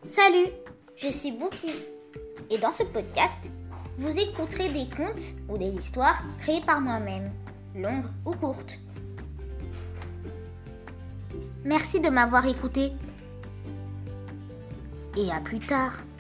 Salut, je suis Bouki et dans ce podcast, vous écouterez des contes ou des histoires créées par moi-même, longues ou courtes. Merci de m'avoir écouté et à plus tard.